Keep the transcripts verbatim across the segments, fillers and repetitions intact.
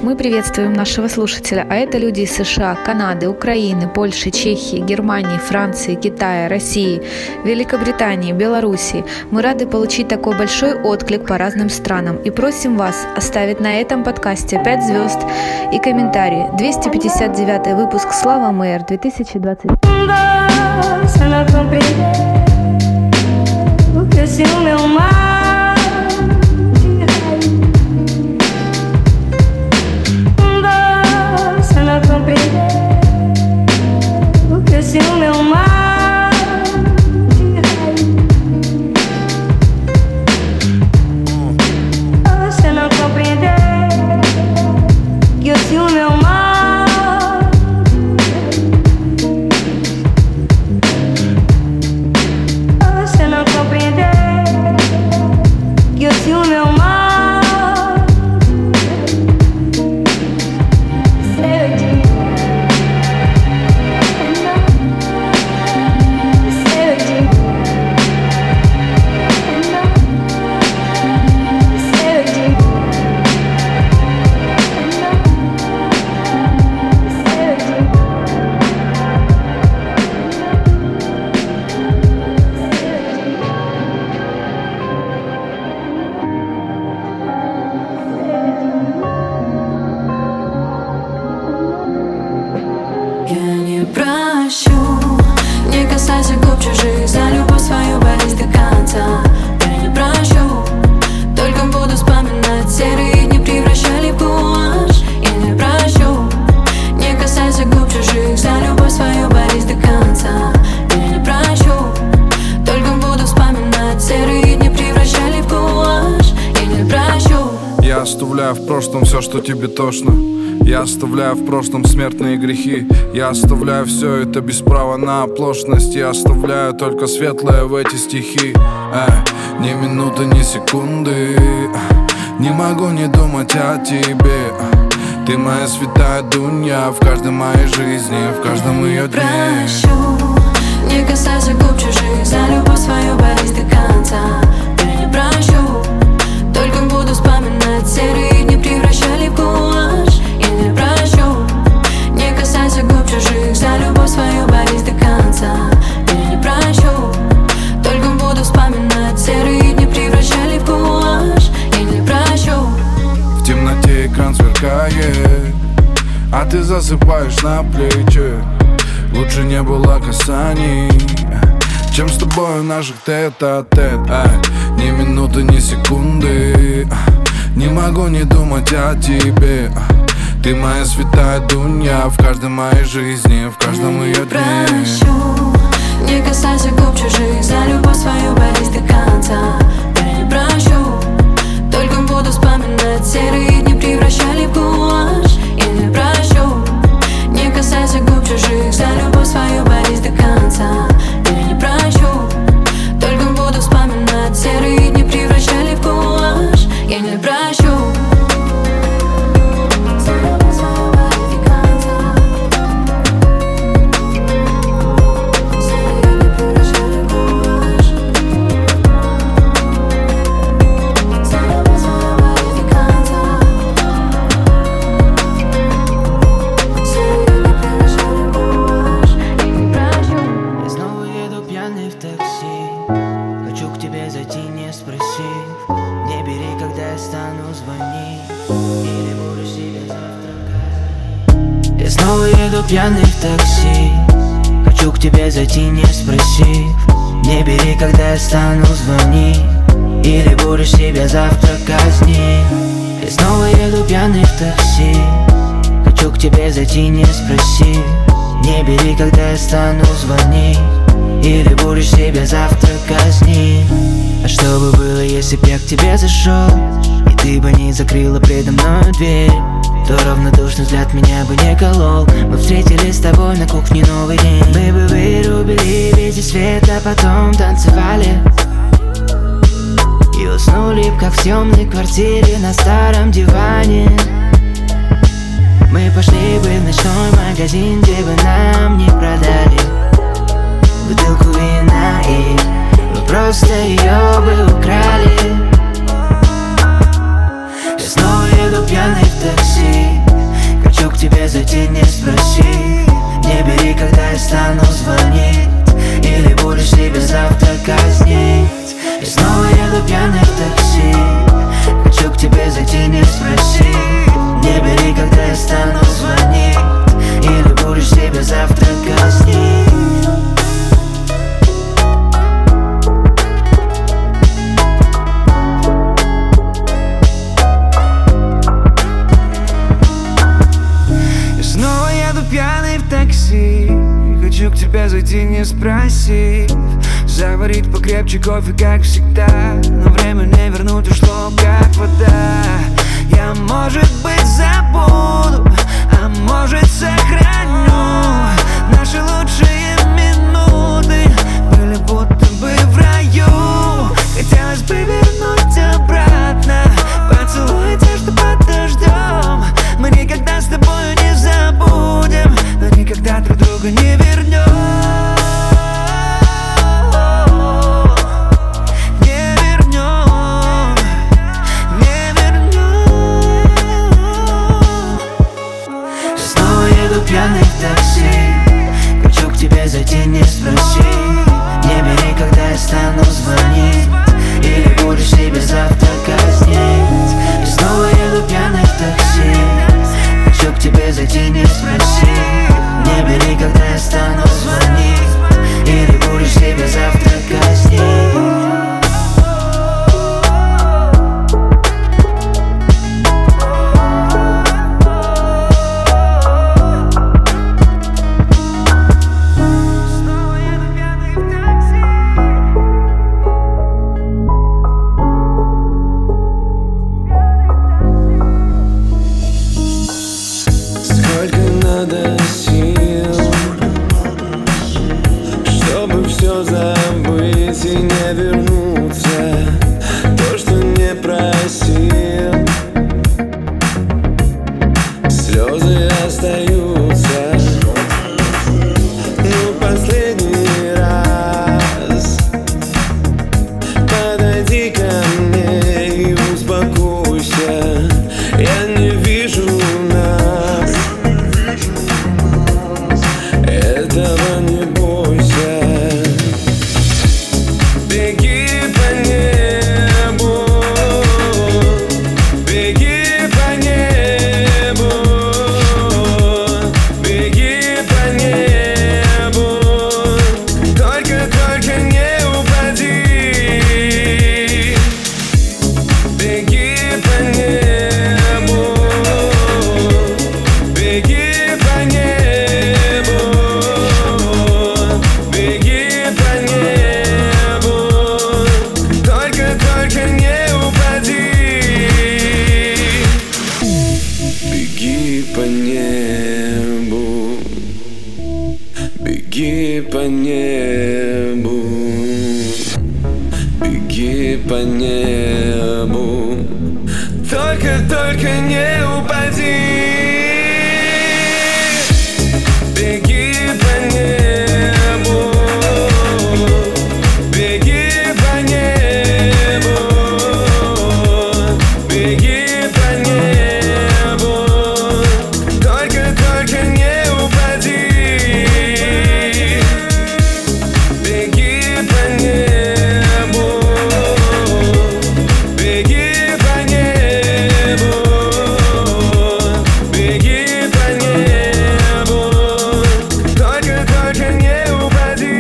Мы приветствуем нашего слушателя, а это люди из США, Канады, Украины, Польши, Чехии, Германии, Франции, Китая, России, Великобритании, Белоруссии. Мы рады получить такой большой отклик по разным странам и просим вас оставить на этом подкасте пять звезд и комментарии. двести пятьдесят девятый выпуск «Слава Мэр» две тысячи двадцать. Se o meu mar de raiz você não compreender que eu se o meu mar você não compreender que eu se o meu mar Оставляю в прошлом все, что тебе тошно. Я оставляю в прошлом смертные грехи. Я оставляю все это без права на оплошность. Я оставляю только светлое в эти стихи. э, Ни минуты, ни секунды не могу не думать о тебе. Ты моя святая Дунья в каждой моей жизни, в каждом ее дне. Прощу, не касайся губ чужих, за любовь свою борись до конца. Я не прощу, только буду вспоминать серые дни, превращали в гуашь. Я не прощу, не касайся губ чужих, за любовь свою борись до конца. Я не прощу, только буду вспоминать серые дни, превращали в гуашь. Я не прощу. В темноте экран сверкает, а ты засыпаешь на плечи. Лучше не было касаний, чем с тобой наших тет-а-тет. Ни минуты, ни секунды не могу не думать о тебе. Ты моя святая Дунья в каждой моей жизни, в каждом ее дне. Прощу, не касайся губ чужих, за любовь свою борись до конца. Я не прощу, только буду вспоминать серые дни, превращали в гуашь. Я не прощу, не касайся губ чужих, за любовь свою борись до конца. Я не прощу, только буду вспоминать серые дни, превращали в гуашь. Я не прощу. Снова еду пьяный в такси, хочу к тебе зайти, не спросив. Не бери, когда я стану, звони, или будешь себя завтра казнить. Я снова еду пьяный в такси, хочу к тебе зайти, не спросив. Не бери, когда я стану, звони, или будешь себя завтра казнить. А что бы было, если б я к тебе зашел, и ты бы не закрыла предо мною дверь? То равнодушный взгляд меня бы не колол. Мы встретились с тобой на кухне новый день. Мы бы вырубили весь свет, а потом танцевали и уснули б, как в темной квартире на старом диване. Мы пошли бы в ночной магазин, где бы нам не продали бутылку вина, и мы просто ее бы украли. Я снова еду пьяный в такси, тебя зайти, не спросив. Заварить покрепче кофе, как всегда. Но время не вернуть, ушло как вода. Я, может быть, забуду, а может, сохраню. Наши лучшие минуты были будто бы в раю. Хотелось бы вернуть обратно, поцелуй те, что под дождем. Мы никогда с тобой не забудем, но никогда друг друга не вернем. Не вернем, не вернем. Я снова еду пьяный в такси, хочу к тебе зайти, не спроси. Не бери, когда я стану звонить, или будешь себя завтра казнить. И снова еду пьяный в такси, хочу к тебе зайти, не спроси. Не бери, когда я стану звонить, или будешь себя завтра казнить. Надо сил, чтобы все забыть и не вернуться. То, что не просил, слезы остаются. Ну, последний раз подойди ко мне и успокойся. Я не вижу нас, этого не бойся. Беги по небу, беги по небу, беги по небу. Только, только не упади. Беги по небу, беги по небу. Беги по небу, только, только не упади. Беги по небу, беги по небу, беги по небу, только, только не упади. Беги по небу, беги по небу, беги по небу, только, только не упади. Беги по небу, беги по небу, беги по небу, только, только не упади.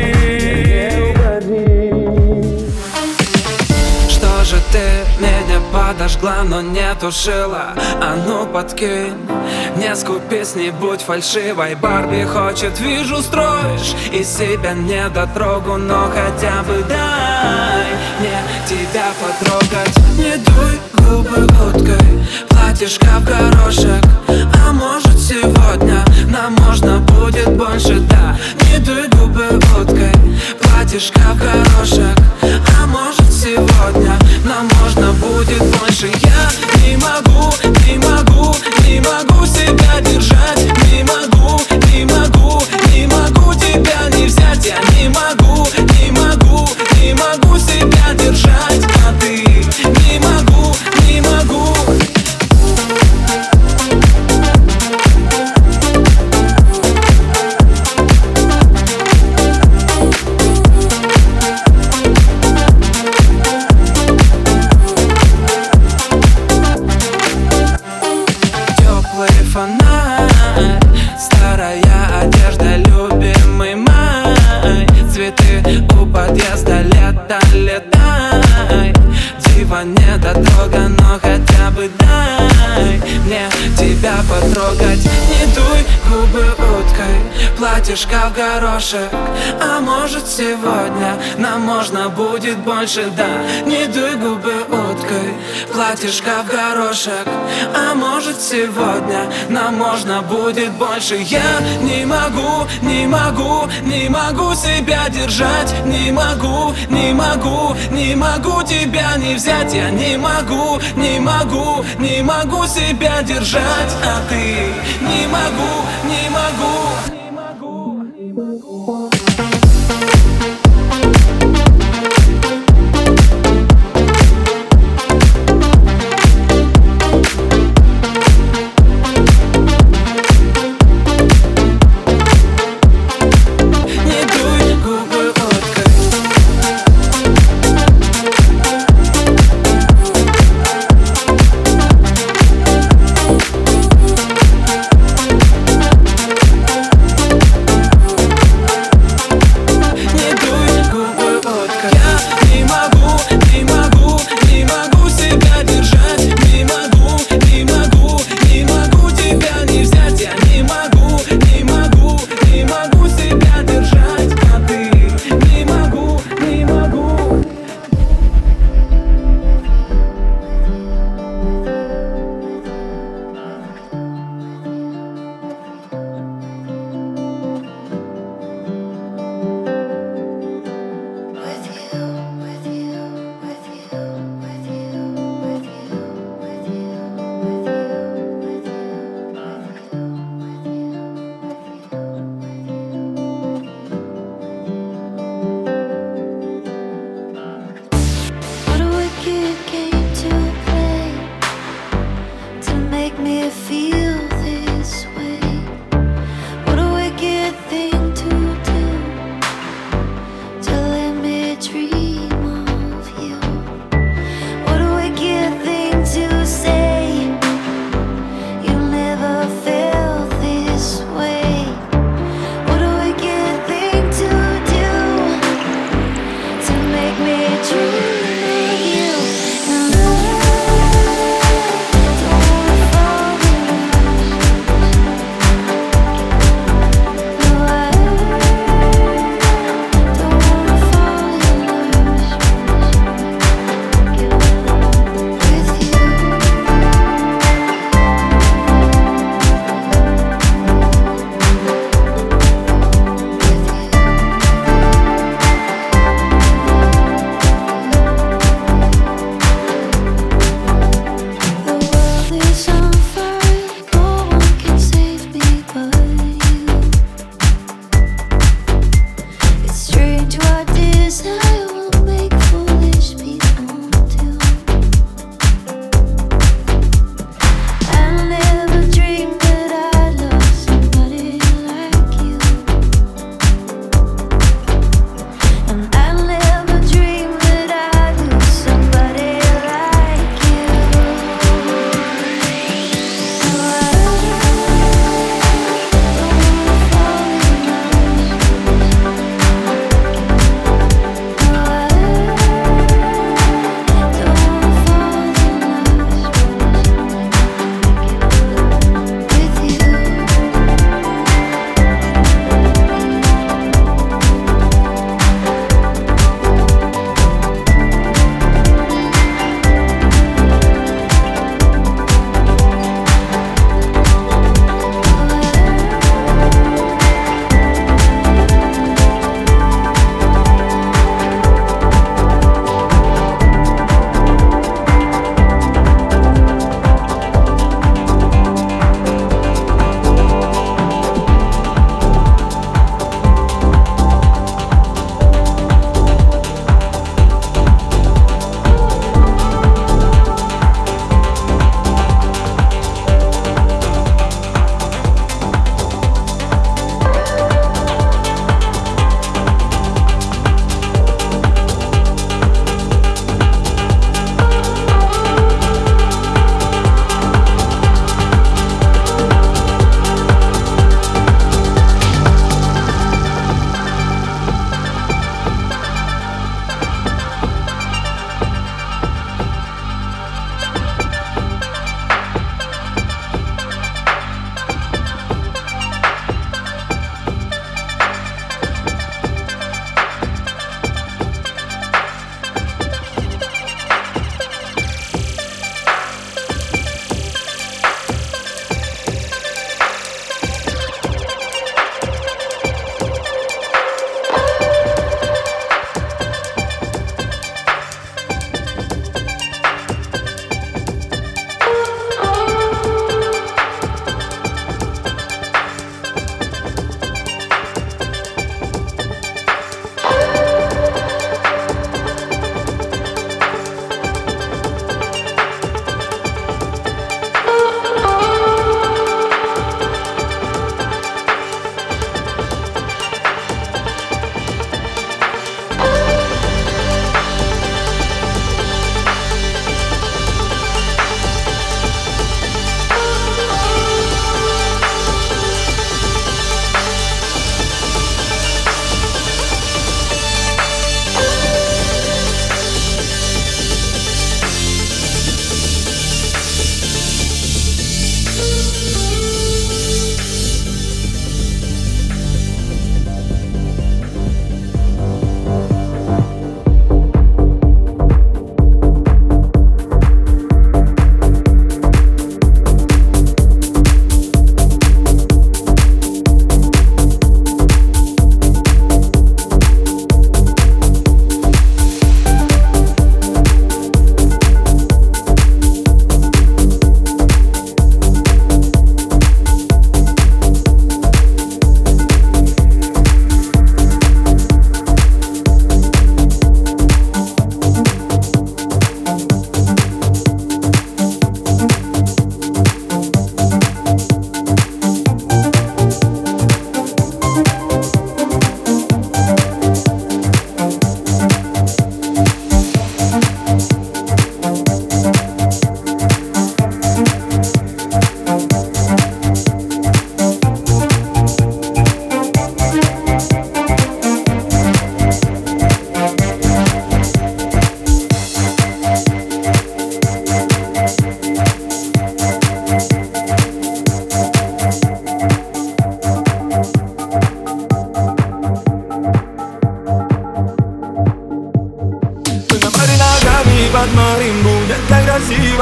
Что же ты меня подожгла, но не тушила? А ну подкинь, не скупись, не будь фальшивой. Барби хочет, вижу, строишь из себя недотрогу, но хотя бы дай мне тебя потрогать. Не дуй губы уткой, платьишко в горошек. А может сегодня нам можно будет больше, да. Не дуй губы уткой, платьишко в горошек. А может сегодня нам можно будет больше. Я не могу, не могу, не могу себя держать. Не могу, не могу, не могу тебя не взять. Я не могу, не могу, не могу себя держать. А ты не могу, не могу. Фонарь, старая одежда, любимый май. Цветы у подъезда, лето, летай. Дива недотрога, но хотя бы дай мне тебя потрогать. Не дуй губы уткой, платьишко в горошек. А может сегодня нам можно будет больше, да. Не дуй губы уткой, платьишко в горошек. А может сегодня нам можно будет больше. Я не могу, не могу, не могу себя держать. Не могу, не могу, не могу тебя не взять. Я не могу, не могу, не могу себя держать. А ты не могу, не могу, не могу, не могу. Don't wanna fall in love.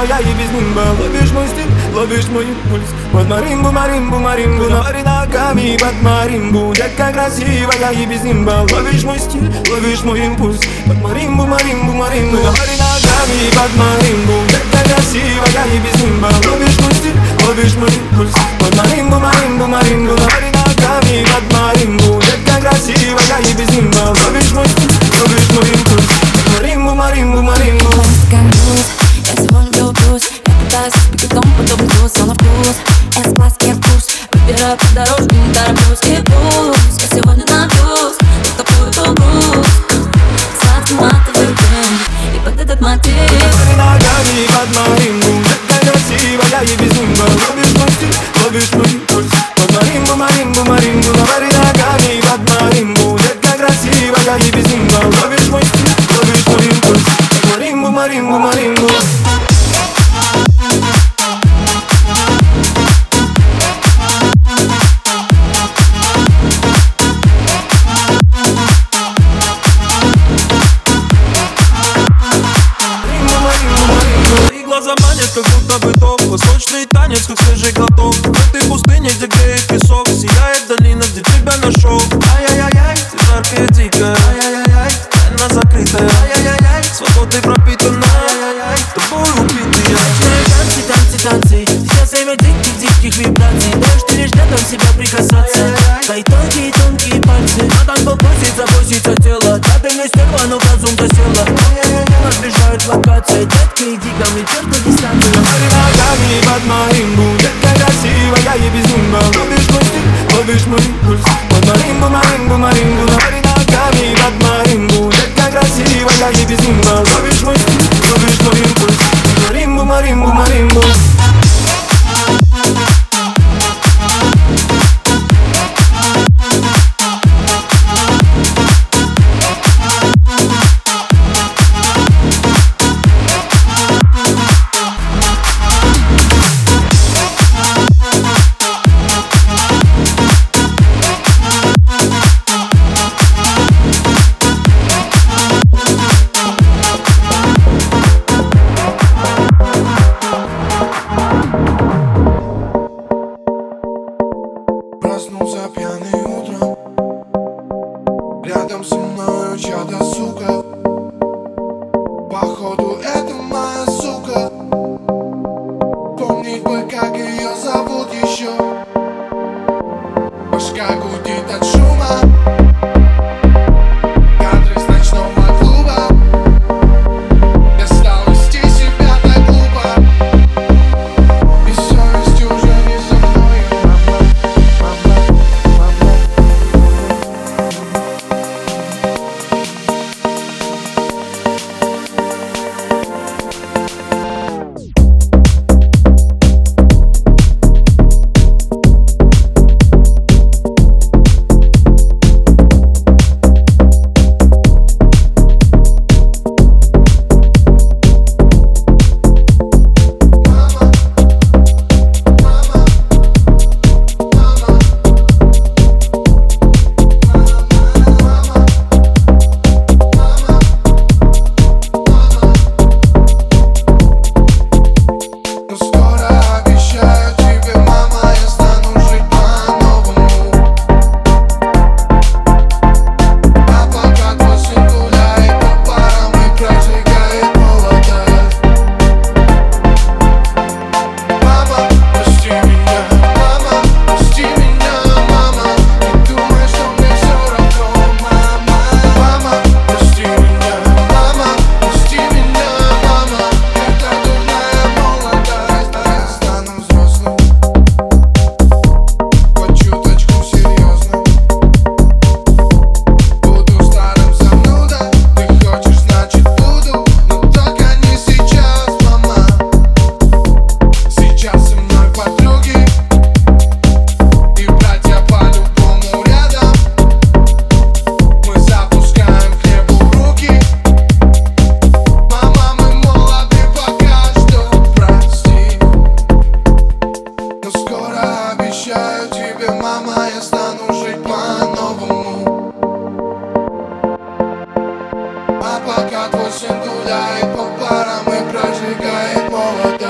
красивая и без нимба. Ловишь мой стиль, ловишь мой импульс. Под маримбу, маримбу, маримбу, навари ногами под маримбу. Детка красивая и без нимба. Ловишь мой стиль, ловишь мой импульс. Под маримбу, маримбу, маримбу, навари ногами под маримбу. Детка красивая и без нимба. Ловишь мой стиль, ловишь мой импульс. Под маримбу, маримбу, маримбу, навари ногами под маримбу. Детка красивая и без нимба. Ловишь мой стиль, ловишь мой импульс. Маримбу, маримбу, маримбу. Я всего лишь влюблюсь. Я пытаюсь с беготом подобный вкус, но на вкус С-класс, я курс. Выбираю по дорожке, не тороплюсь. И пусть я сегодня напьюсь, но такую груз. Сладкий матовый дым, и под этот мотив Навари ногами под маримбу. Детка красивая и без нимба. Ловишь мой стиль, ловишь мой импульс. Под маримбу, маримбу, маримбу. Навари ногами под маримбу. Детка красивая и без нимба. Ловишь мой стиль, ловишь мой импульс. Под маримбу, маримбу, маримбу. Твои глаза манят, как будто бы топ. Восточный танец, как свежий глоток. В этой пустыне, где греет песок, сияет долина, где тебя нашел. Ай-яй-яй-яй, ты жаркая, дикая. Ай-яй-яй-яй, тайна закрытая. Ай-яй-яй-яй, свободой пропитана. Ай-яй-яй, тобой убитые. Ночные танцы, танцы, танцы. Сейчас время диких, диких вибраций. Дождь ты лишь рядом себя прикасаться. Твои тонкие, тонкие пальцы. На танцпол просится, просится тело. Да ты не стерва, но в разум засела. Нас сближают локации. Детка, иди ко мне, черт на дистанцию. Навари ногами под маримбу. Детка красивая и без нимба. Ловишь мой стиль, ловишь мой импульс. Под маримбу, маримбу, маримбу. Навари ногами под маримбу. Детка красивая и без нимба. Ловишь мой стиль, ловишь мой импульс. Под маримбу, маримбу, маримбу. Проснулся пьяный утром. Рядом со мною чья-то сука. Походу это моя сука. Помнить бы, как ее зовут еще. Башка гудит от шума. Кадры с ночного клуба. Я стал вести себя так глупо. И совесть уже не со мной. А пока твой сын гуляет по барам и прожигает молот.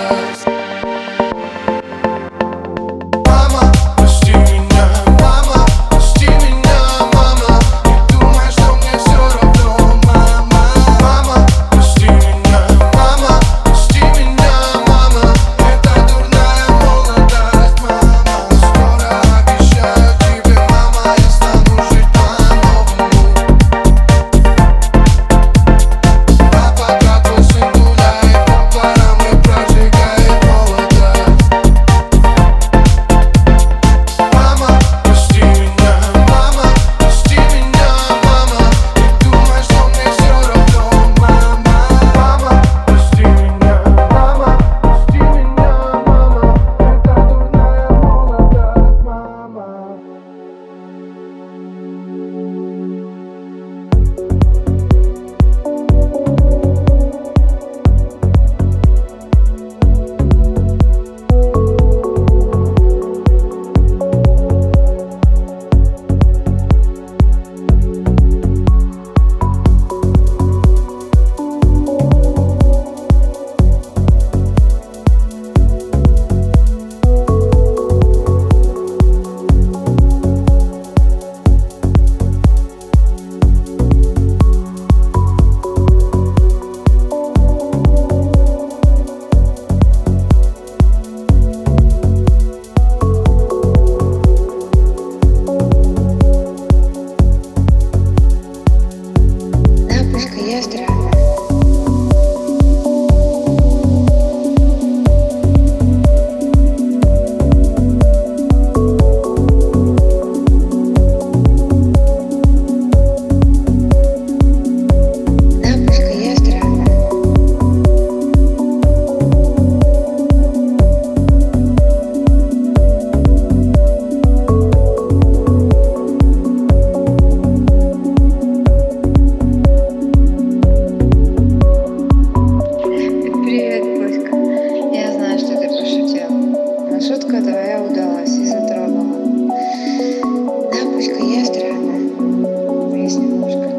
шутка твоя удалась и затронула. Да, пуська, я странная. Есть немножко.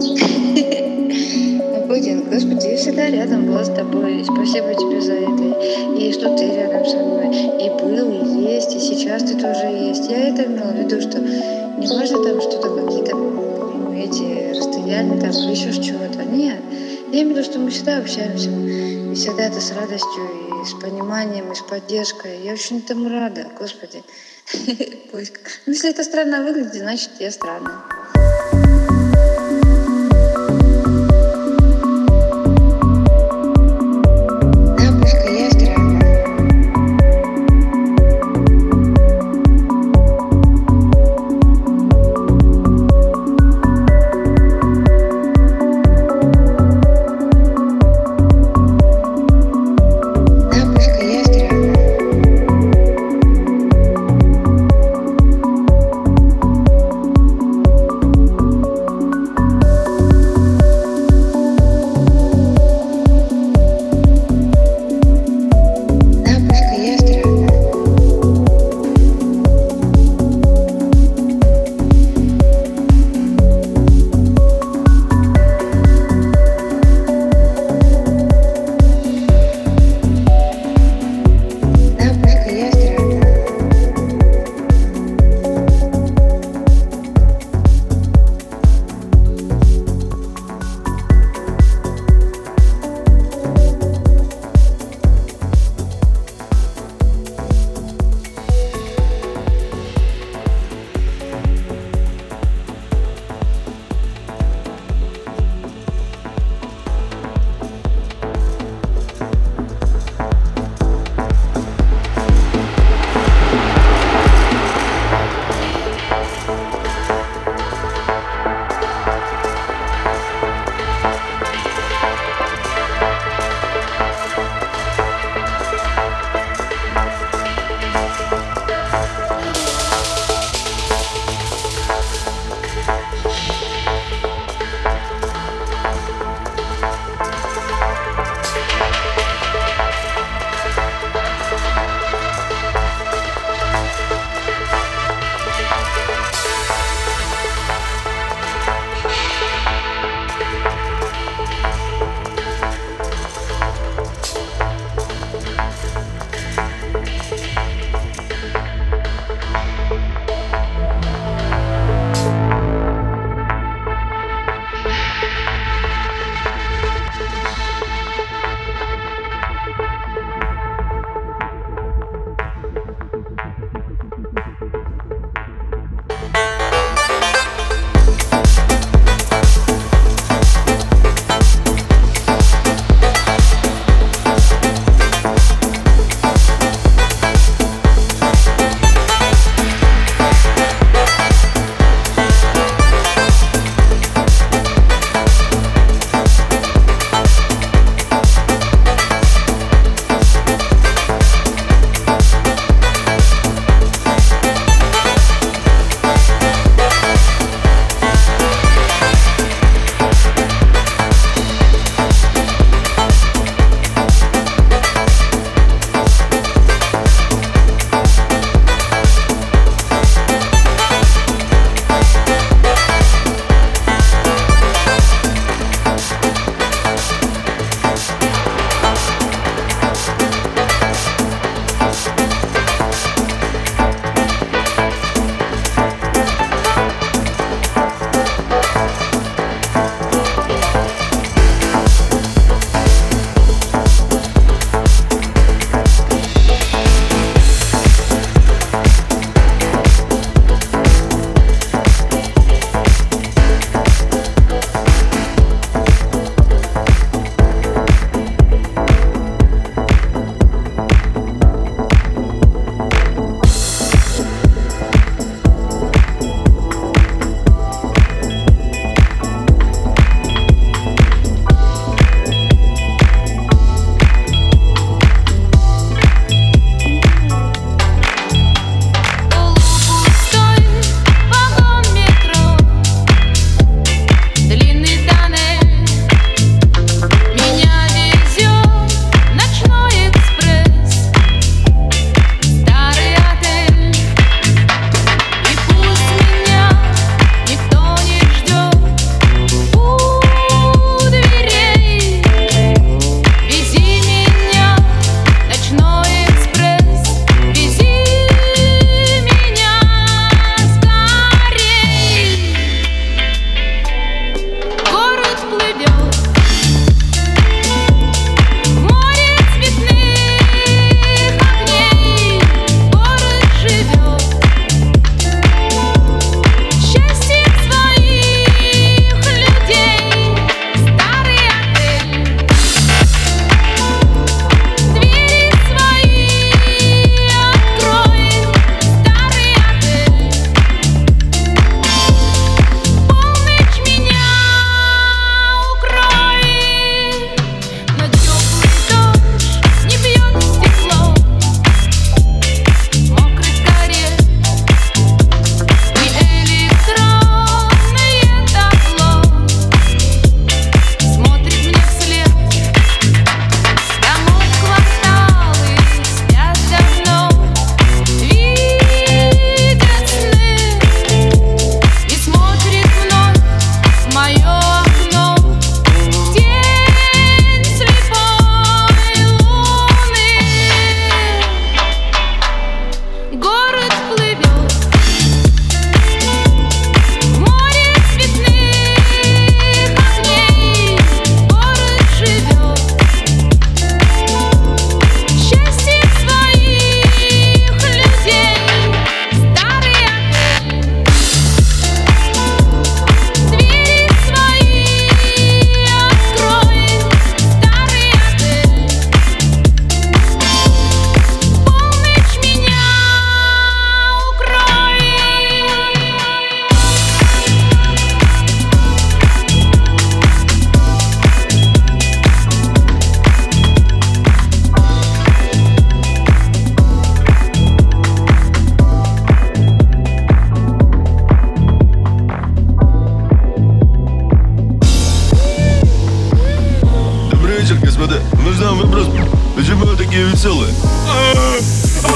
А Путин, господи, я всегда рядом была с тобой. И спасибо тебе за это. И что ты рядом со мной. И был, и есть, и сейчас ты тоже есть. Я это имела в виду, что не важно там что-то какие-то ну, эти расстояния там или еще чего-то. Нет. Я имею в виду, что мы всегда общаемся. И всегда это с радостью, и с пониманием, и с поддержкой. Я очень этому рада, господи. Пуська. Ну, если это странно выглядит, значит, я странная. Да, пуська, я странная. Да, пуська, я странная.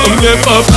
мне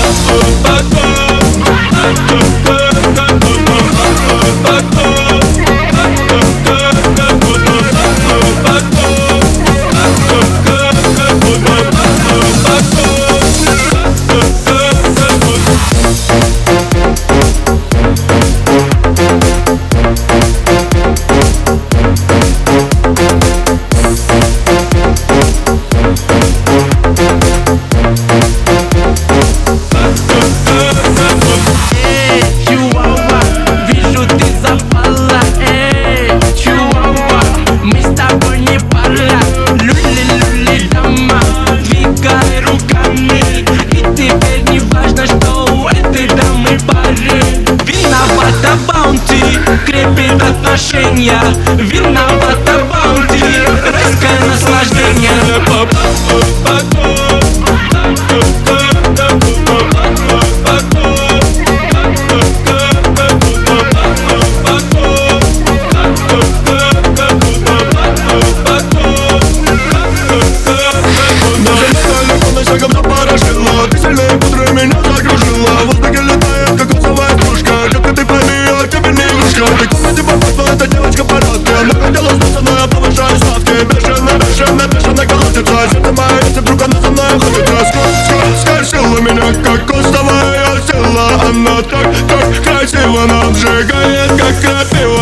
крепит отношения. Виновата баунти, райское наслаждение. Шагом запорошила, ты сильнее пудры меня закружила. В воздухе летает кокосовая стружка. Детка, ты пойми, я тебе не игрушка. Ты комнате попасть, эта девочка порядка. Она хотела сдаться, но я повышаю ставки. Бешено, бешено, бешено колотится. Сердце мое, если вдруг она со мной ходит. Скользила меня, как костовая сила. Она так, так красиво нам сжигает, как крапива.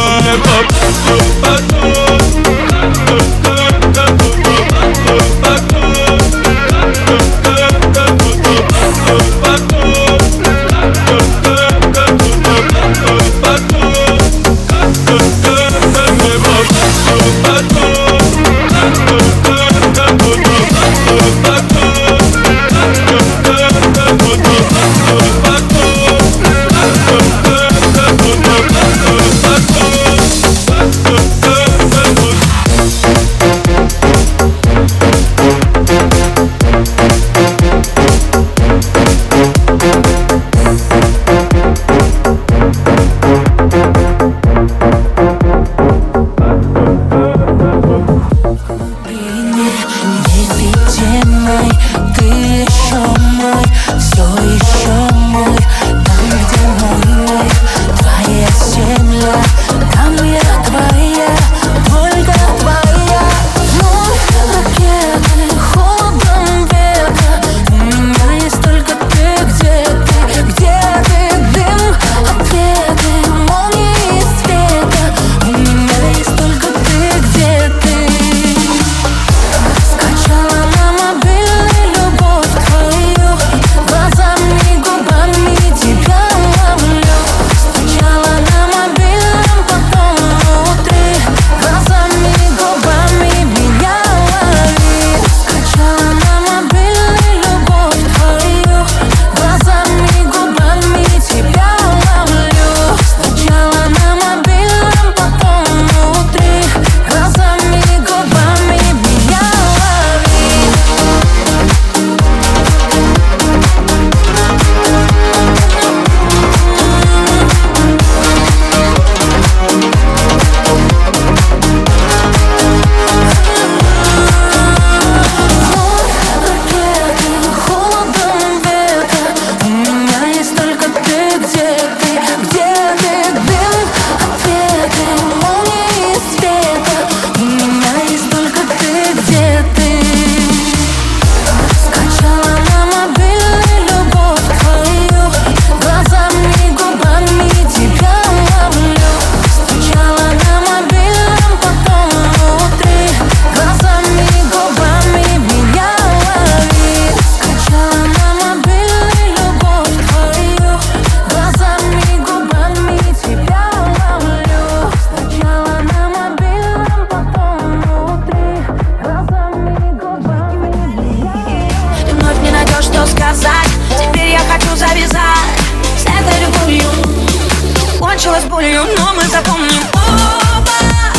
Кончилось болью, но мы запомним оба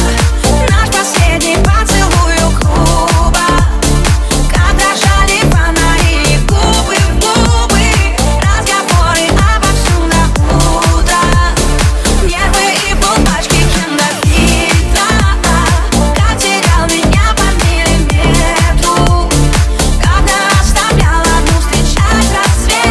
наш последний поцелуй у клуба, как дрожали фонари, губы в губы, разговоры обо всем до утра, нервы и полпачки кинофильтра, как терял меня по миллиметру, когда оставлял одну встречать рассвет.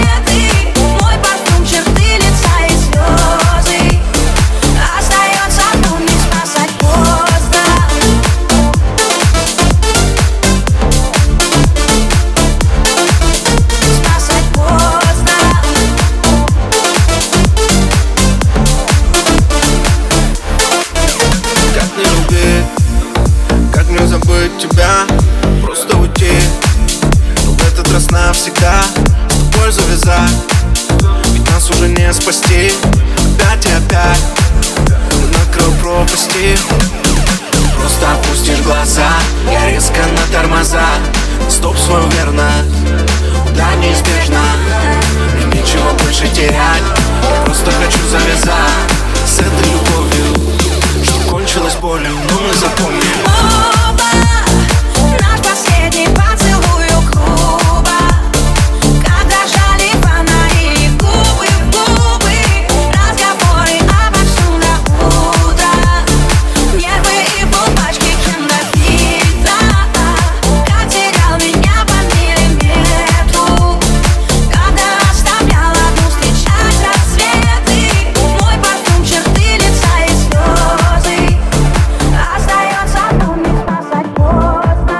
остановил. Просто опустишь глаза, я резко на тормоза. Стоп свою верность, удар неизбежно. Мне нечего больше терять, я просто хочу завязать с этой любовью, что кончилось болью, но мы запомним. Оба, наш последний поцелуй у клуба, когда жали фонари губы в губы, разговоры обо всем до утра, нервы и булбачки кинофильтра. Как терял меня по миллиметру, когда оставлял одну встречать рассветы. Мой парфюм, черты лица и слезы, остается помнить, спасать поздно.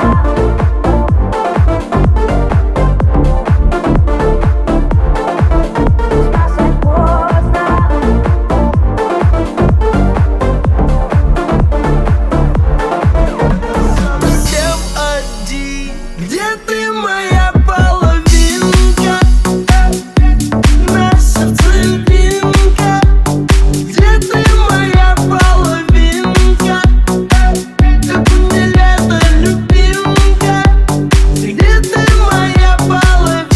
Спасать поздно. Совсем один, где ты, моя половинка? На сердце льдинка. Где ты, моя половинка? Как мне лето, любимка. Где ты, моя половинка?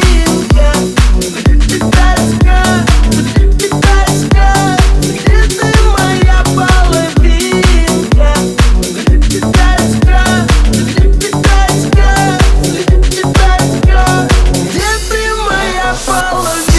Питаська, питаська. Где ты, моя половинка? Питаська, питаська, питаська. Где ты, моя половинка?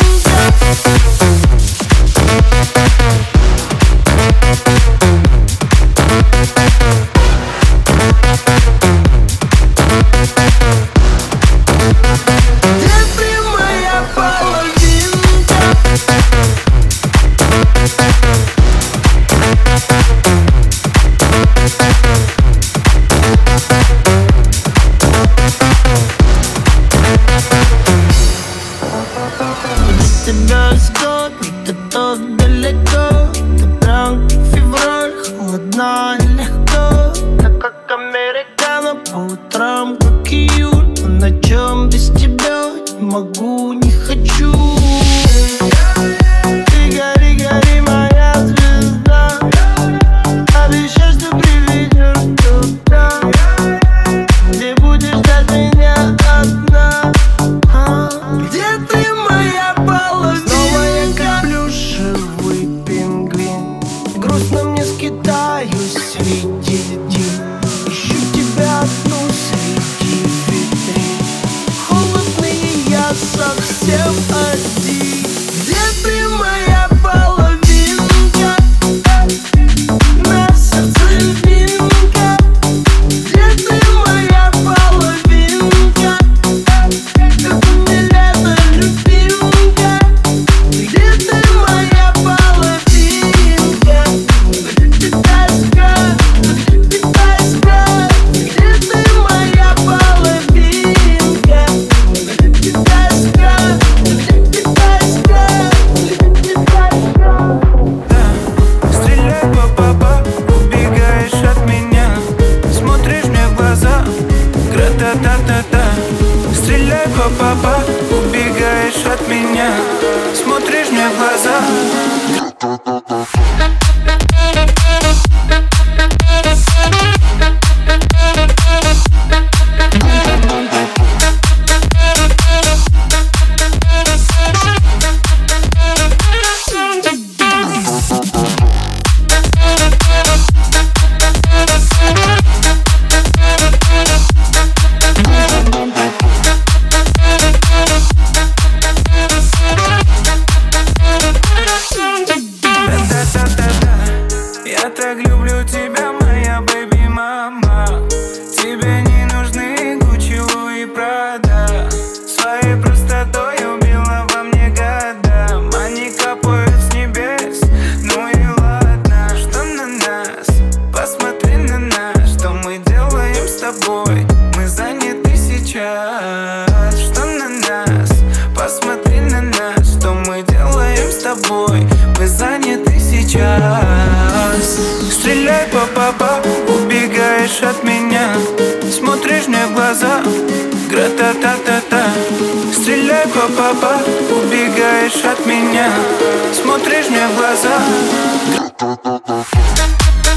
Где ты, моя половинка? Без тебя весь год, где-то далеко. Ты прям как февраль, холодна и легко. Так как американо, по утрам как июль. По ночам без тебя не могу, не хочу. Ты гори, гори, моя звезда. Обещай, что приведешь туда, где будешь ждать меня одна. А, где ты, моя половинка? Снова я как плюшевый пингвин, грустно мне скитаюсь среди льдин. Ищу тебя одну среди витрин. Холодный я совсем один. Где ты, моя половинка? На сердце льдинка. Где ты, моя половинка? Как мне лето, любимка. Где ты, моя половинка? Питаська, питаська. Где ты, моя половинка? Питаська, питаська, питаська. Стреляй, па-па-па, убегаешь от меня, смотришь мне в глаза, гра-та-та-та-та. Стреляй, па-па-па, убегаешь от меня, смотришь мне в глаза. Я так люблю тебя, моя бэби-мама. Тебе не нужны Гуччи, Луи, Прада. Своей простотой убила во мне года. Они капают с небес, ну и ладно. Что на нас? Посмотри на нас. Что мы делаем с тобой? Мы заняты сейчас. Что на нас? Посмотри на нас. Что мы делаем с тобой? Мы заняты сейчас. Стреляй, па-па-па, убегаешь от меня, смотришь мне в глаза, гра-та-та-та-та. Стреляй, па-па-па, убегаешь от меня, смотришь мне в глаза.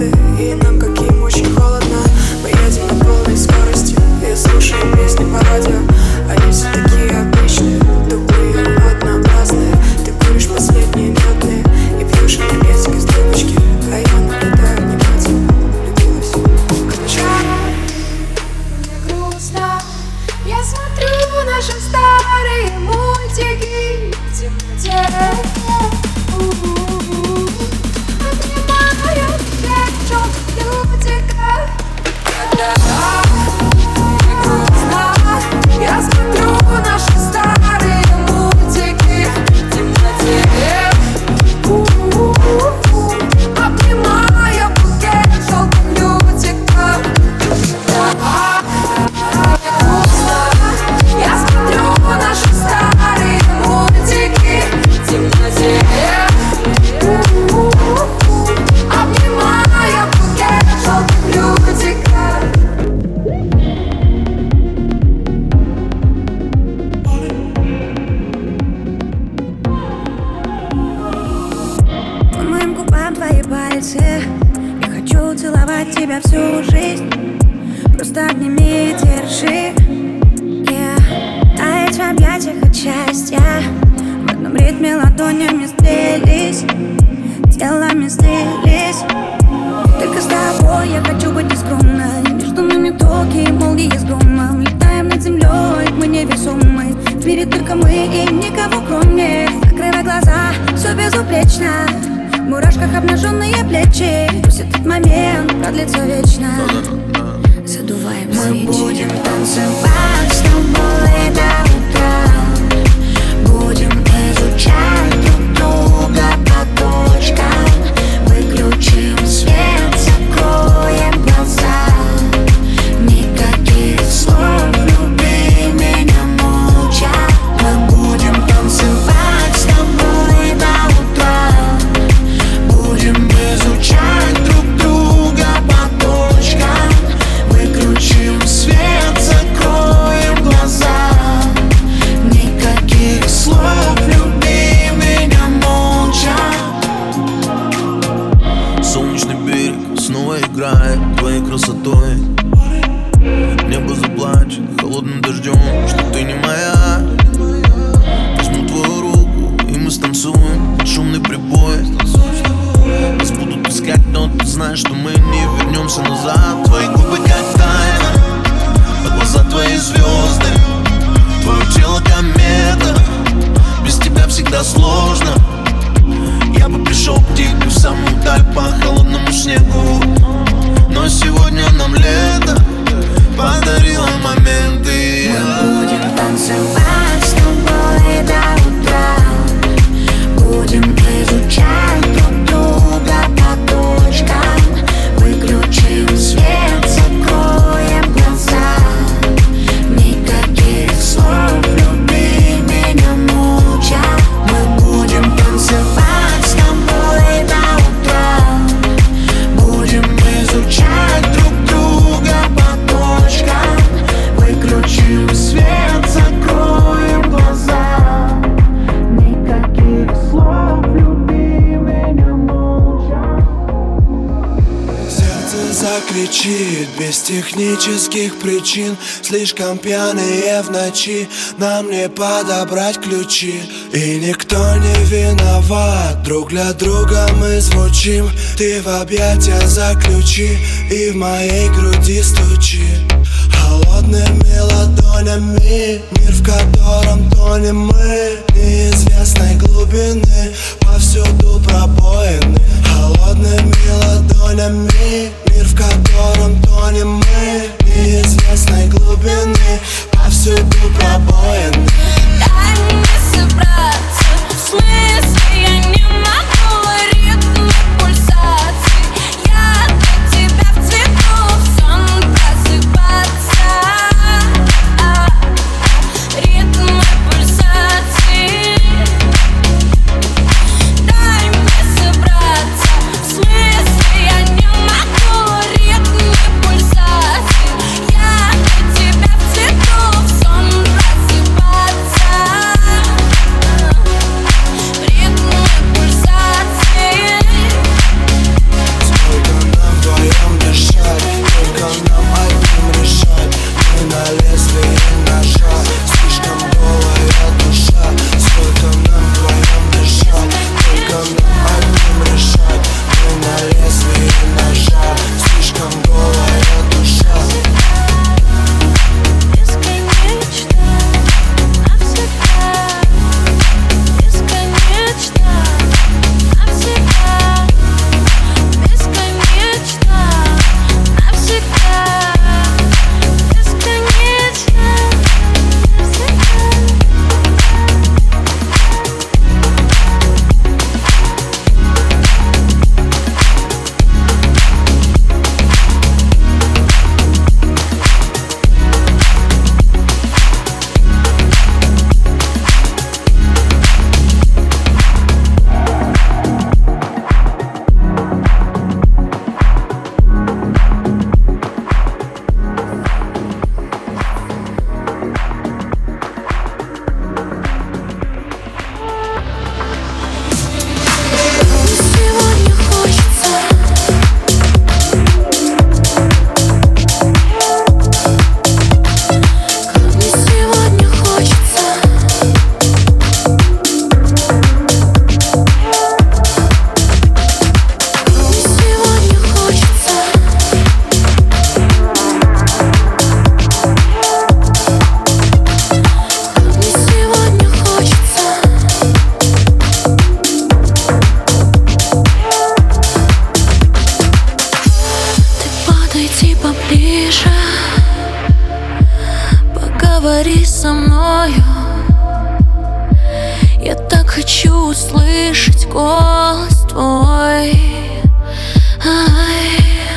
годы, и нам каким очень холодно. Мы едем на полной скорости и слушаем песни по радио. Они все такие обычные, тупые, однообразные. Ты куришь последние мятные и пьешь энергетик из трубочки, а я наблюдаю внимательно. Влюбилась в начало. Мне грустно, я смотрю наши старые мультики в темноте. Обнимаю тебя, лютика. Мне грустно, я смотрю наши старые мультики в темноте. Обнимаю букет желтых лютиков. Мне грустно, я смотрю наши старые мультики в темноте. Обнимаю букет желтых лютиков. По моим губам твои пальцы. Я хочу целовать тебя всю жизнь. Просто обними и держи, yeah. Таять в объятиях от счастья. В одном ритме ладонями сплелись, телами слились. Только с тобой я хочу быть нескромной. Между нами токи, молнии с громом. Летаем над землей, мы невесомы. В мире только мы и никого кроме. Закрывай глаза, все безупречно. В мурашках обнаженные плечи. Пусть этот момент продлится вечно. Задуваем свечи. Мы будем танцевать с тобой до утра. Будем изучать друг друга по точкам. Выключим свет, закроем глаза. Никаких слов, люби меня молча. Мы будем танцевать с тобой до утра. Будем изучать друг друга по точкам. Выключим свет, закроем глаза. Никаких слов, люби меня молча. Солнечный берег снова играет твоей красотой. Небо заплачет холодным дождем, что ты не моя. Возьму твою руку, и мы станцуем под шумный прибой. Нас будут искать, но ты знаешь, что мы не вернемся назад. Твои губы как тайна, а глаза твои звезды. Твое тело комета, без тебя всегда сложно. Я бы пришел к тебе в самую даль по холодному снегу. Но сегодня нам лето подарило моменты. Мы будем танцевать с тобой до утра. Будем изучать друг друга по точкам. Выключим свет, закроем глаза. Никаких слов, люби меня молча. Мы будем танцевать с тобой до утра. Будем изучать друг друга по точкам. Выключим свет, закроем глаза. Никаких слов, люби меня молча. Сердце закричит без технических причин. Слишком пьяные в ночи, нам не подобрать ключи. И никто не виноват, друг для друга мы звучим. Ты в объятия заключи и в моей груди стучи. Холодными ладонями, мир, в котором тонем мы. Неизвестной глубины, повсюду пробоины. Холодными ладонями, мир, в котором тонем мы. Неизвестной глубины, повсюду пробоины. Дай мне собраться, в смысле я не могу. Ритм пульсации, я для тебя в цвету, в сон просыпаться. Ритм пульсации, дай мне со мною. Я так хочу услышать голос твой. Ай.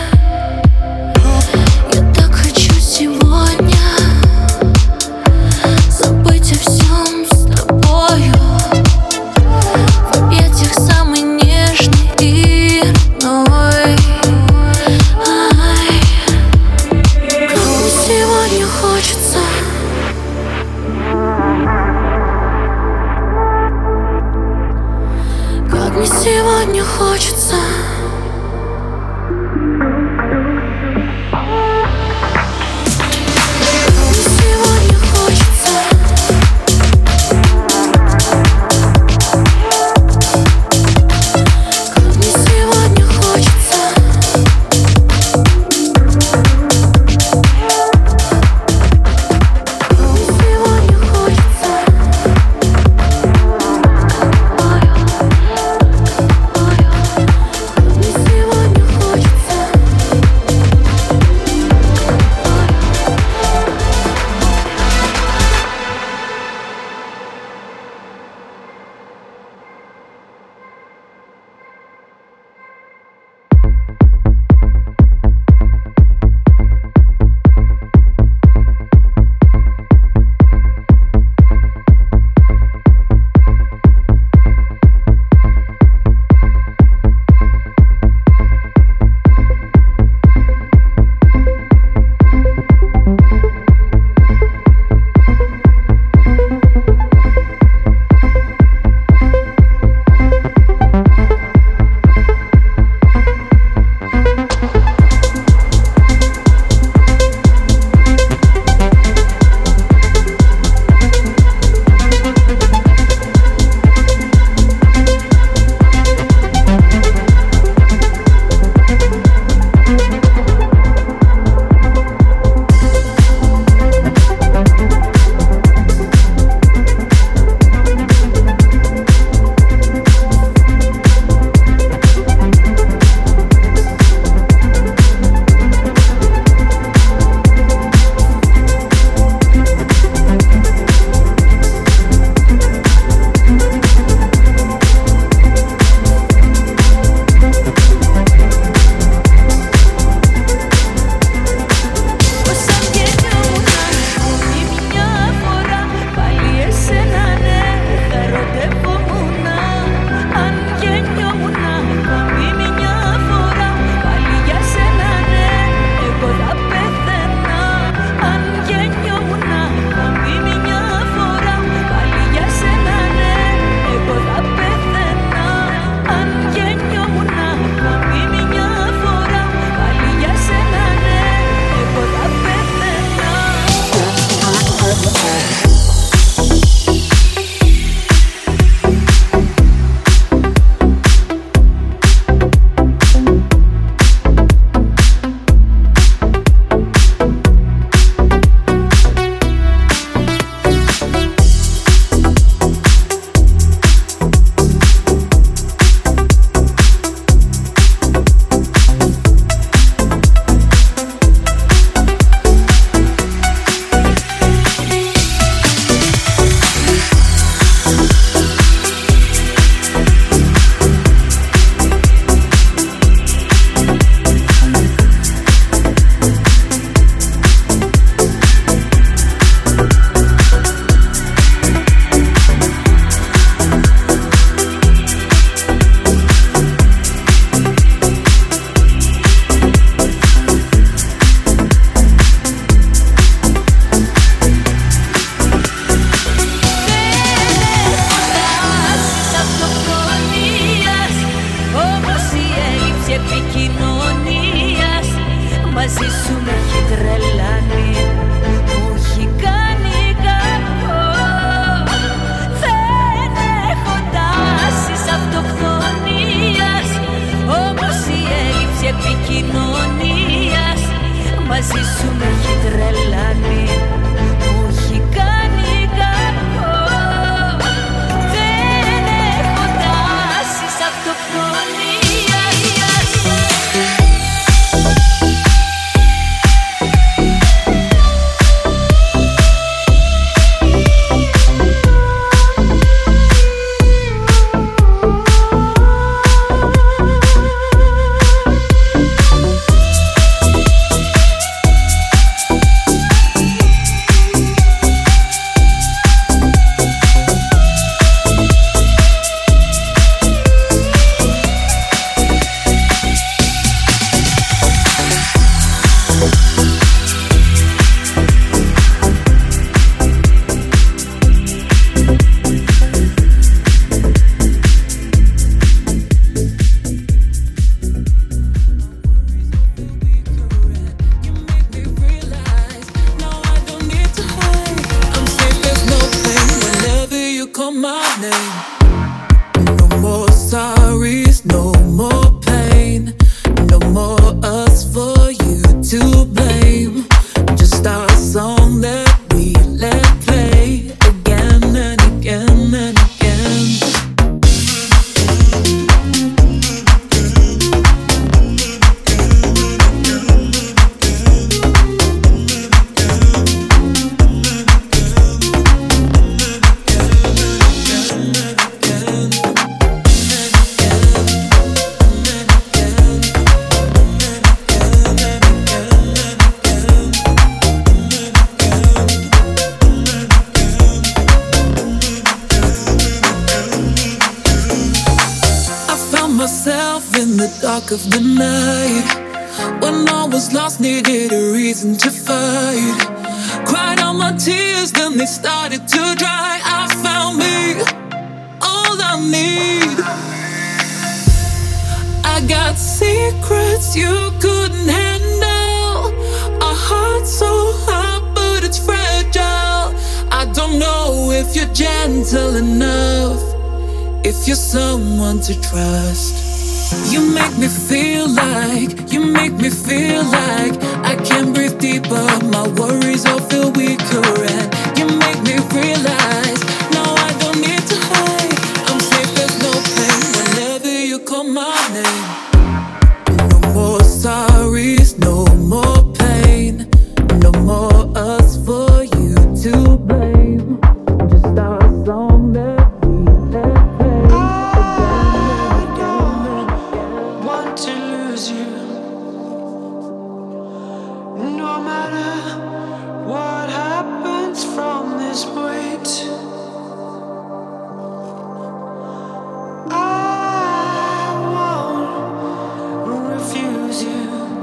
Я так хочу сегодня забыть о всем с тобою, в объятиях самый нежный и родной. Ай. Как мне сегодня хочется, как мне сегодня хочется. more pain, no more us for you to blame. Just our song that we let play again and again and again. Myself in the dark of the night, when I was lost, needed a reason to fight. Cried all my tears, then they started to dry. I found me, all I need. I got secrets you couldn't handle, a heart so hot but it's fragile. I don't know if you're gentle enough, if you're someone to trust. You make me feel like, you make me feel like I can breathe deeper, my worries all feel weaker. And you make me realize, no, I don't need to hide, I'm safe, there's no pain whenever you call my name. No more sorries, no more pain, no more us for you to blame. Just our song that we let play. To lose you, no matter what happens from this point, I won't refuse you.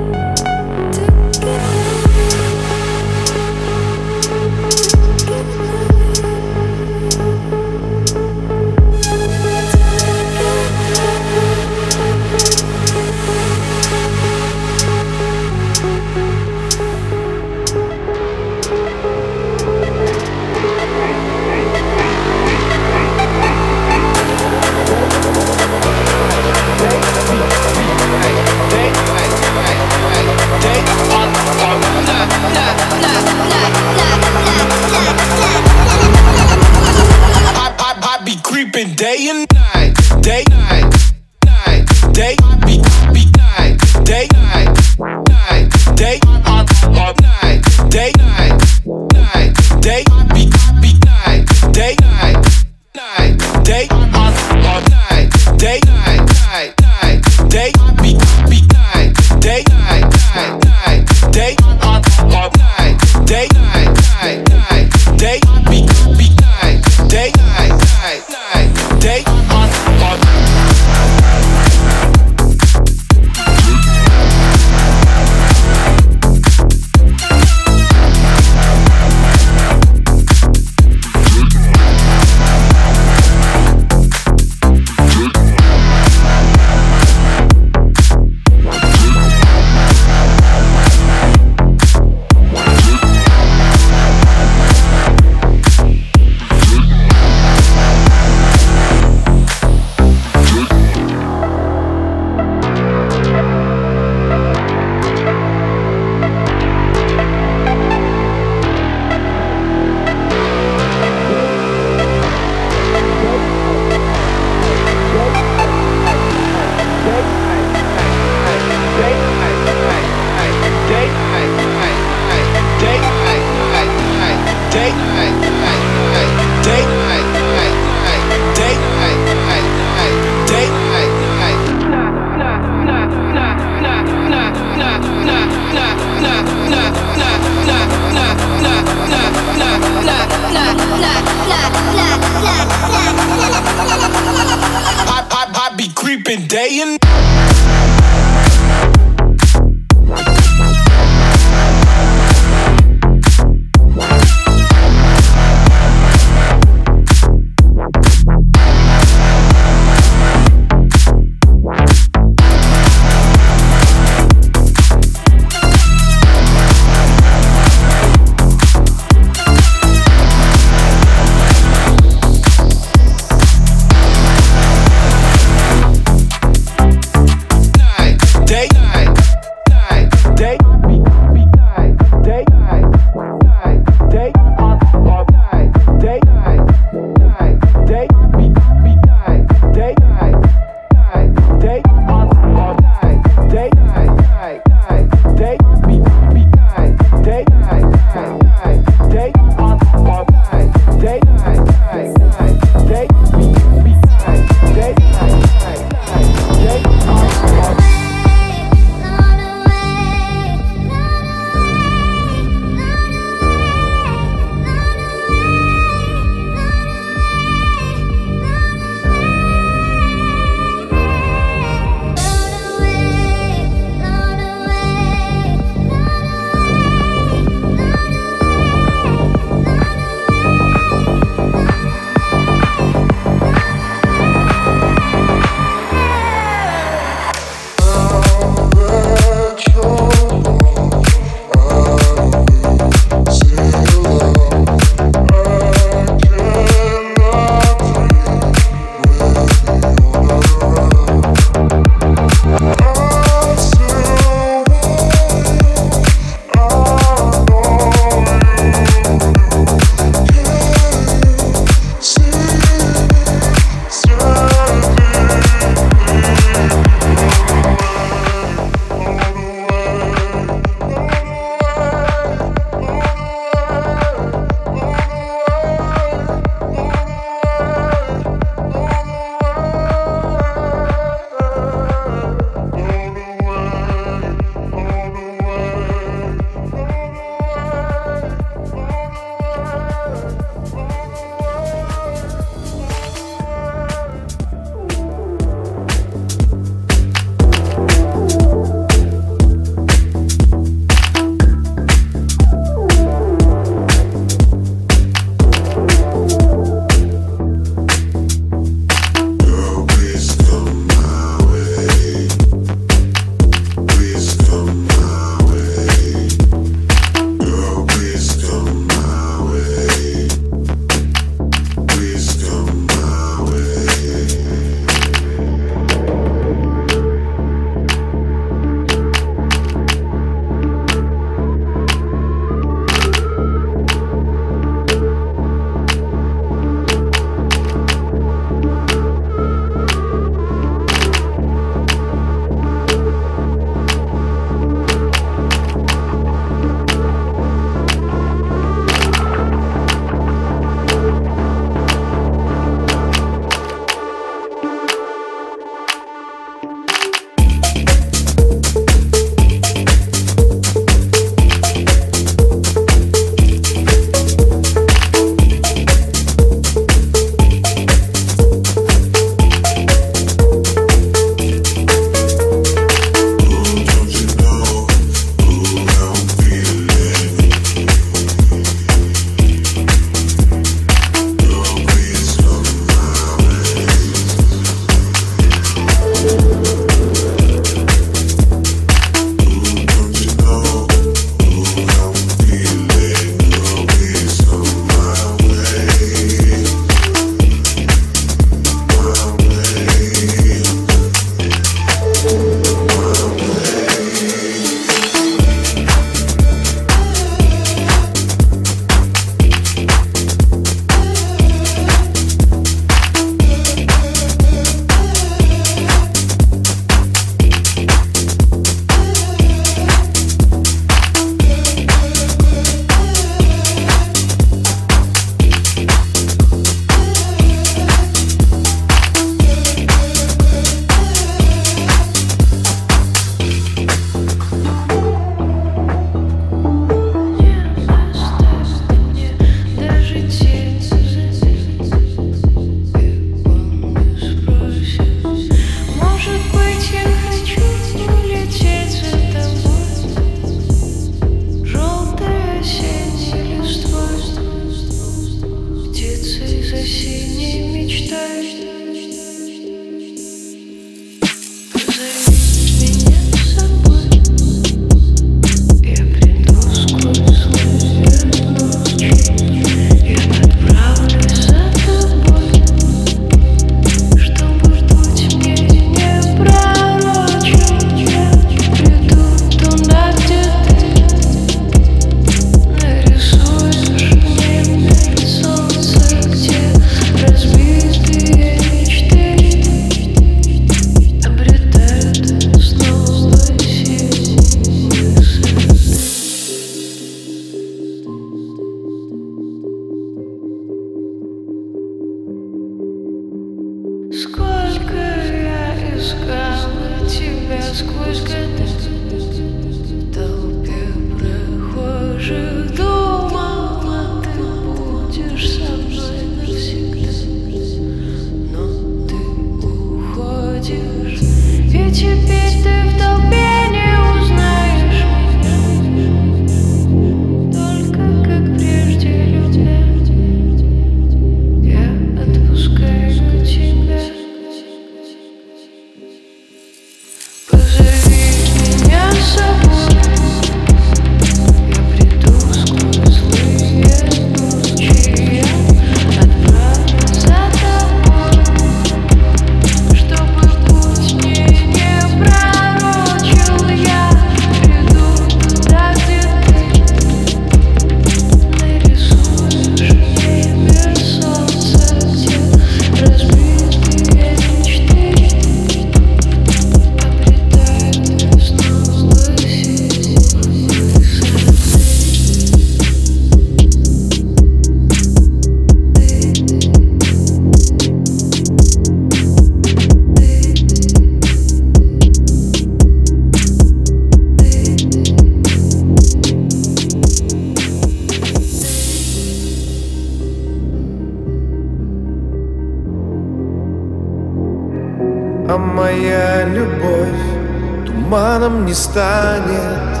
туманом не станет.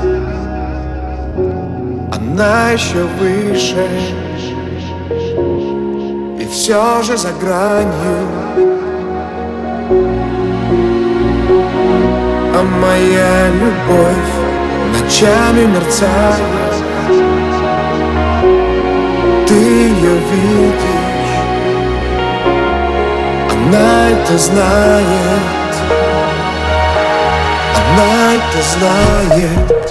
Она еще выше, и все же за гранью. А моя любовь ночами мерцает. Ты ее видишь, она это знает, она это знает.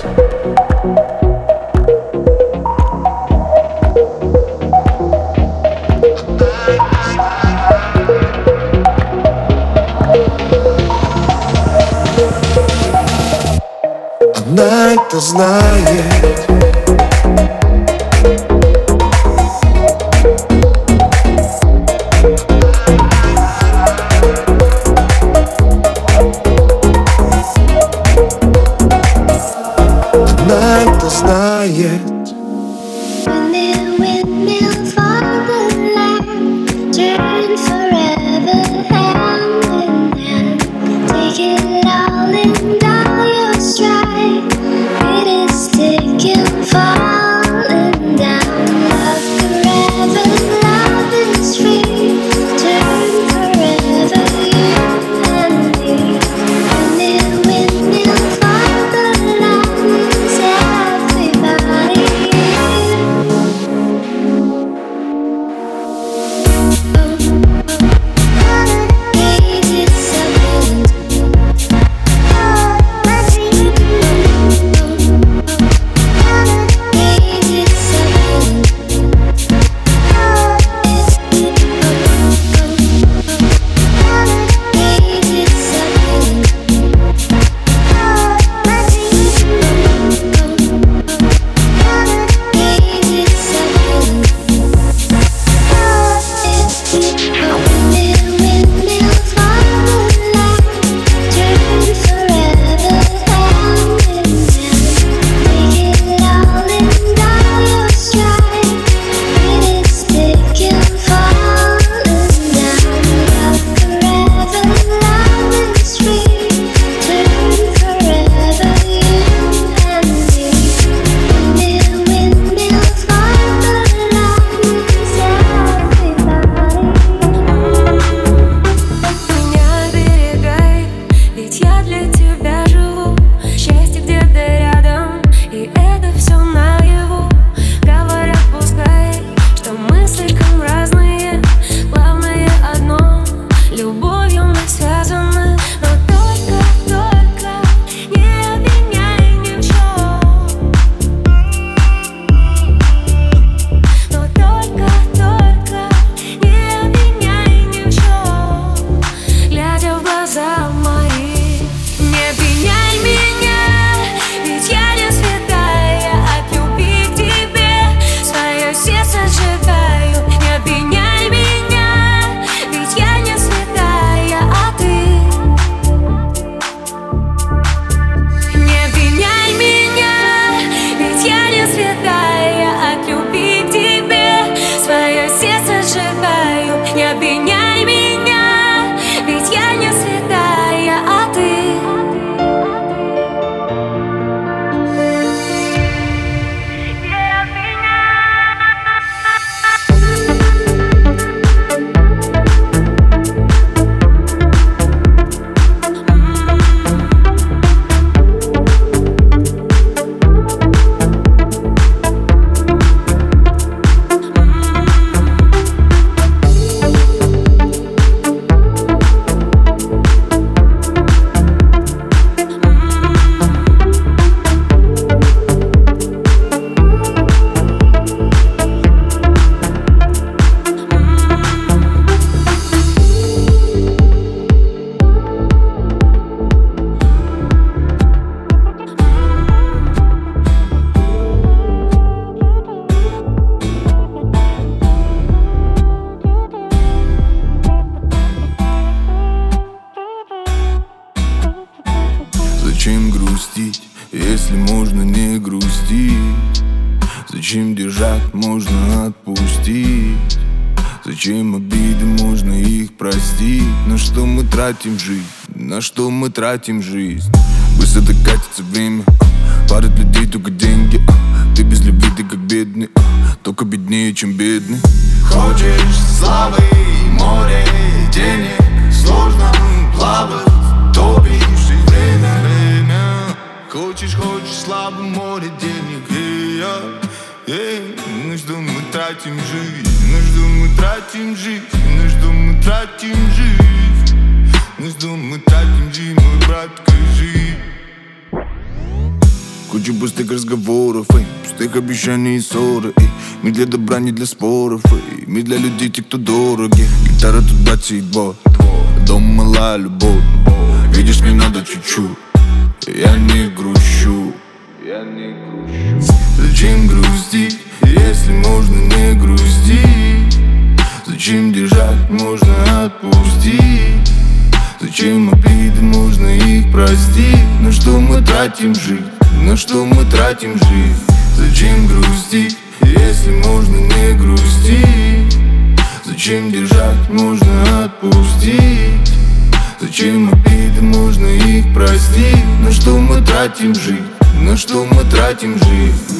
Она это знает. Она это знает. Зачем грустить, если можно не грустить? Зачем держать, можно отпустить? Зачем обиды, можно их простить? На что мы тратим жизнь, на что мы тратим жизнь? это катится время. Парит людей только деньги. Ты без любви, ты как бедный, только беднее, чем бедный. Хочешь славы, море денег, сложно плавать, топишь и время, время. Хочешь, хочешь славы, море денег, и я, эй, ну что мы тратим жизнь, ну что мы тратим жизнь, ну что мы тратим жизнь, ну что мы тратим жизнь, мой брат, скажи. Куча пустых разговоров, эй, пустых обещаний и ссоры, эй. Мы для добра, не для споров, эй. Мы для людей, те, кто дороги. Гитара тут бацает бот, дом малая любовь. Видишь, мне надо чуть-чуть. Я не грущу, я не грущу. Зачем грустить, если можно не грустить? Зачем держать, можно отпустить? Зачем обиды, можно их простить? На что мы тратим жизнь? На что мы тратим жизнь? Зачем грустить, если можно не грустить? Зачем держать, можно отпустить? Зачем обиды, можно их простить? На что мы тратим жизнь? На что мы тратим жизнь?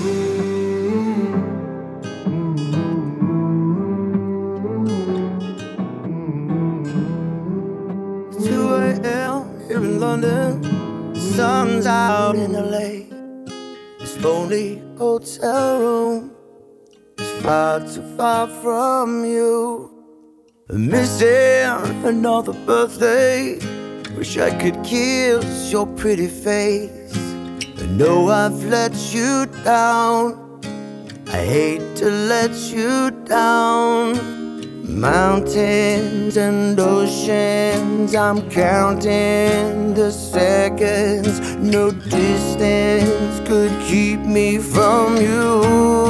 two a.m. here in London, sun's out in L A. This lonely hotel room is far too far from you. Missing another birthday. Wish I could kiss your pretty face. I know I've let you down. I hate to let you down. Mountains and oceans, I'm counting the seconds. No distance could keep me from you.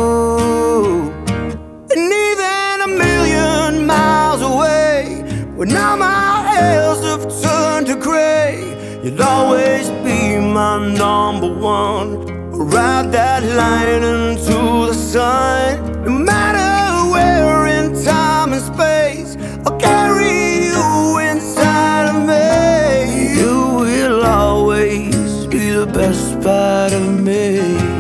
And even a million miles away, when all my hairs have turned to gray, you'll always be my number one. Ride that line into the sun. No matter where in time and space, I'll carry you inside of me. You will always be the best part of me.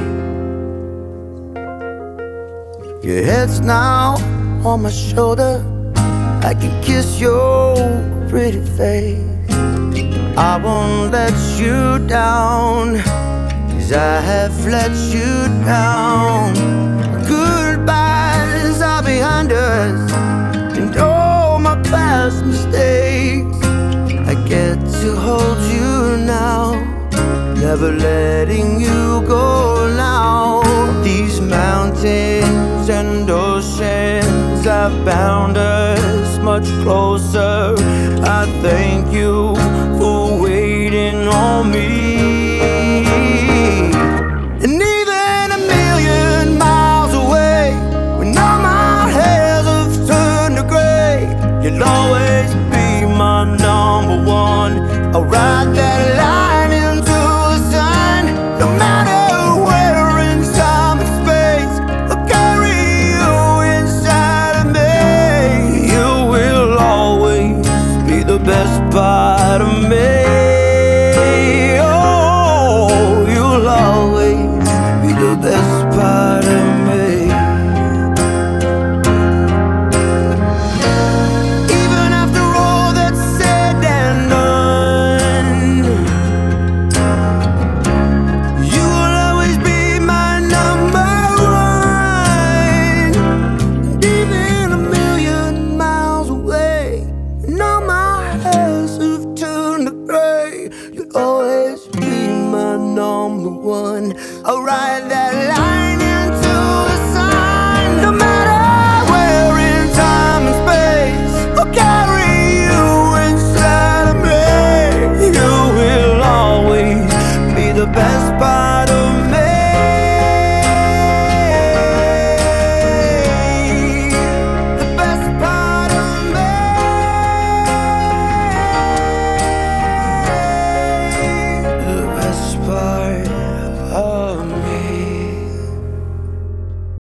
Your head's now on my shoulder. I can kiss your pretty face. I won't let you down, 'cause I have let you down. Goodbyes are behind us, and all my past mistakes. I get to hold you now, never letting you go now. These mountains and oceans have bound us much closer. I thank you for waiting on me. And even a million miles away, when all my hairs have turned to gray, you'll always be my number one. I'll ride that line into the sun. No matter where in time and space, I'll carry you inside of me. You will always be the best part of me. Oh, you'll always be the best part of me. Even after all that's said and done, you will always be my number one. And even a million miles away, and all my hairs have turned to gray, you'll always be my number one. I'll ride that line